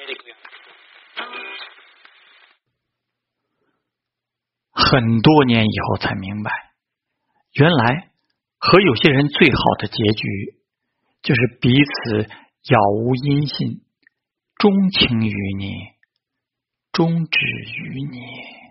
很多年以后才明白，原来和有些人最好的结局，就是彼此杳无音信，钟情于你，终止于你。